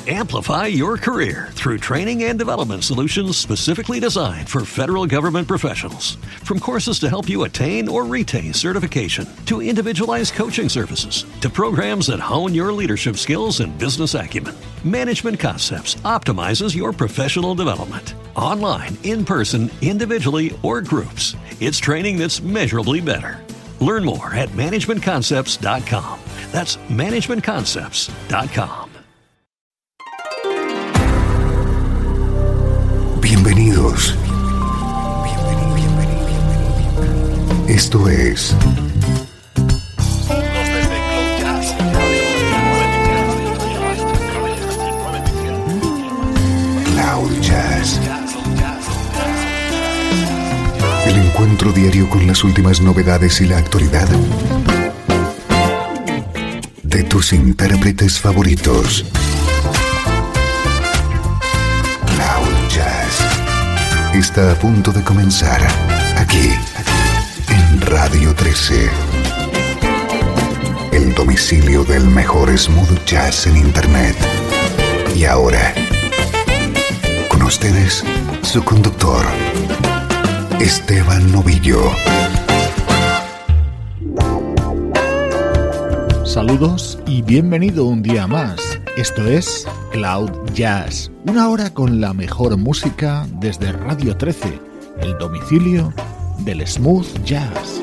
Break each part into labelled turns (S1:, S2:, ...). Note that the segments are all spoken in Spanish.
S1: Amplify your career through training and development solutions specifically designed for federal government professionals. From courses to help you attain or retain certification, to individualized coaching services, to programs that hone your leadership skills and business acumen, Management Concepts optimizes your professional development. Online, in person, individually, or groups, it's training that's measurably better. Learn more at managementconcepts.com. That's managementconcepts.com.
S2: Bienvenidos. Esto es Cloud Jazz. El encuentro diario con las últimas novedades y la actualidad de tus intérpretes favoritos. Cloud Jazz está a punto de comenzar aquí en Radio 13. El domicilio del mejor smooth jazz en internet. Y ahora, con ustedes, su conductor, Esteban Novillo.
S3: Saludos y bienvenido un día más. Esto es Cloud Jazz, una hora con la mejor música desde Radio 13, el domicilio del smooth jazz.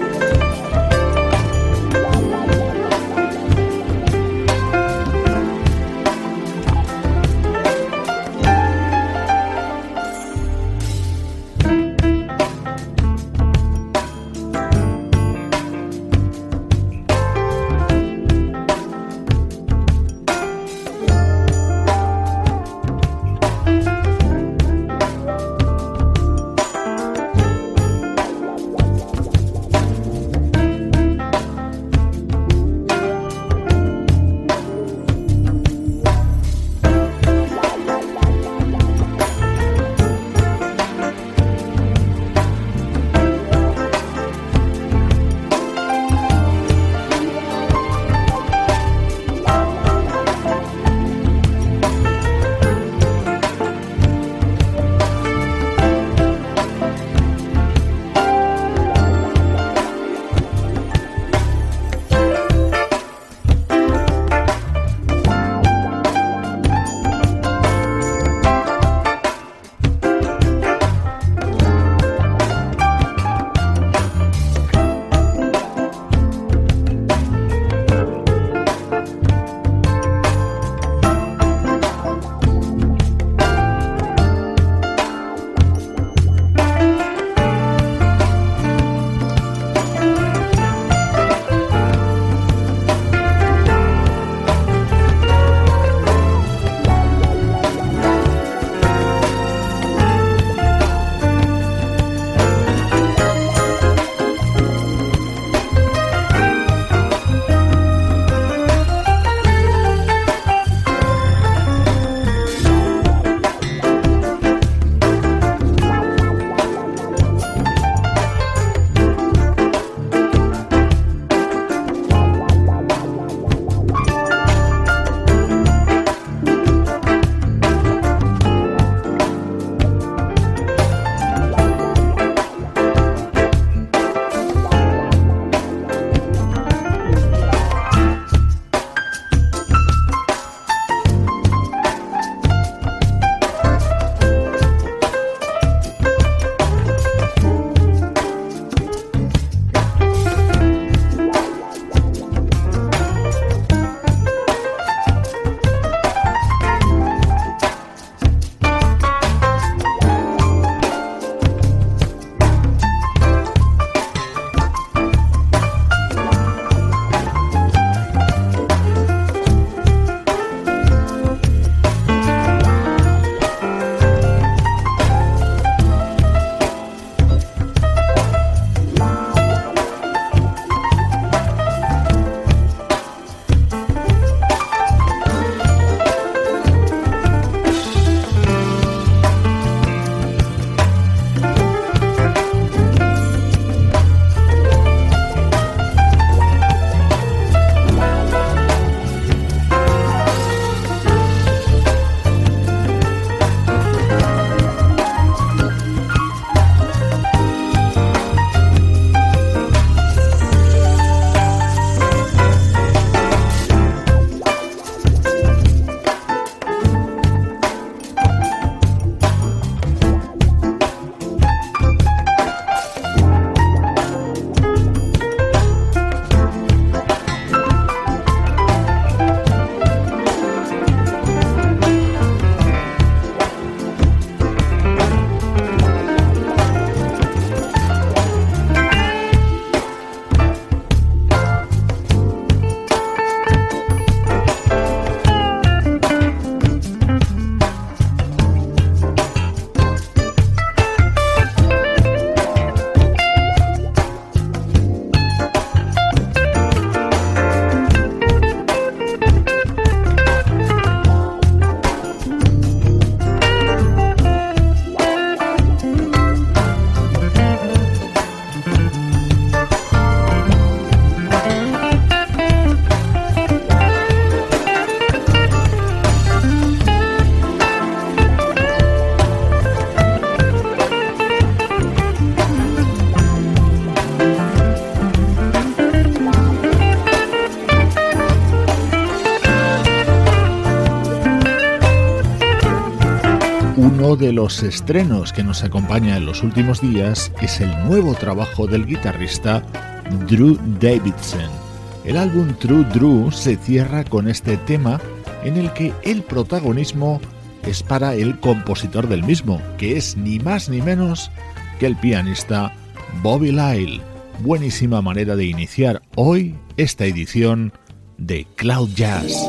S3: Uno de los estrenos que nos acompaña en los últimos días es el nuevo trabajo del guitarrista Drew Davidson. El álbum True Drew se cierra con este tema en el que el protagonismo es para el compositor del mismo, que es ni más ni menos que el pianista Bobby Lyle. Buenísima manera de iniciar hoy esta edición de Cloud Jazz.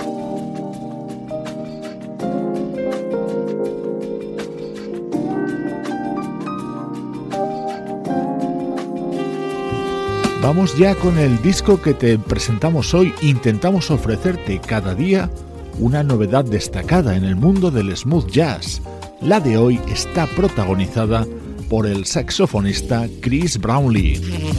S3: Vamos ya con el disco que te presentamos hoy. Intentamos ofrecerte cada día una novedad destacada en el mundo del smooth jazz. La de hoy está protagonizada por el saxofonista Chris Brownlee.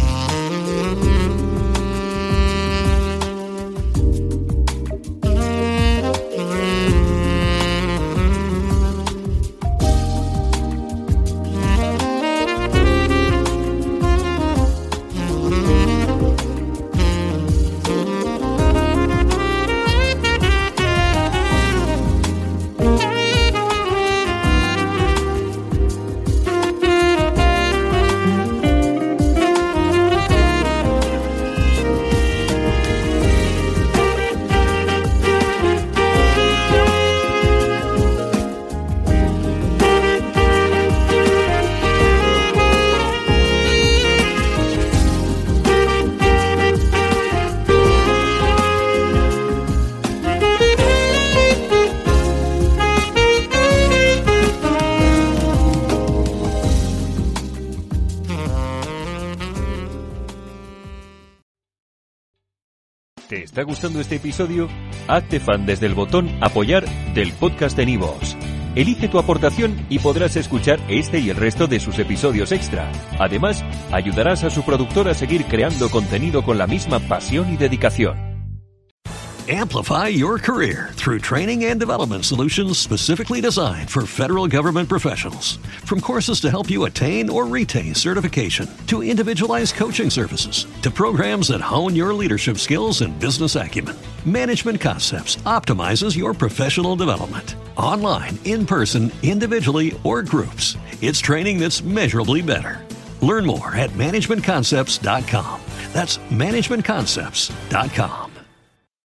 S4: ¿Te está gustando este episodio? Hazte fan desde el botón Apoyar del podcast de Nivos. Elige tu aportación y podrás escuchar este y el resto de sus episodios extra. Además, ayudarás a su productor a seguir creando contenido con la misma pasión y dedicación.
S1: Amplify your career through training and development solutions specifically designed for federal government professionals. From courses to help you attain or retain certification, to individualized coaching services, to programs that hone your leadership skills and business acumen, Management Concepts optimizes your professional development. Online, in person, individually, or groups, it's training that's measurably better. Learn more at managementconcepts.com. That's managementconcepts.com.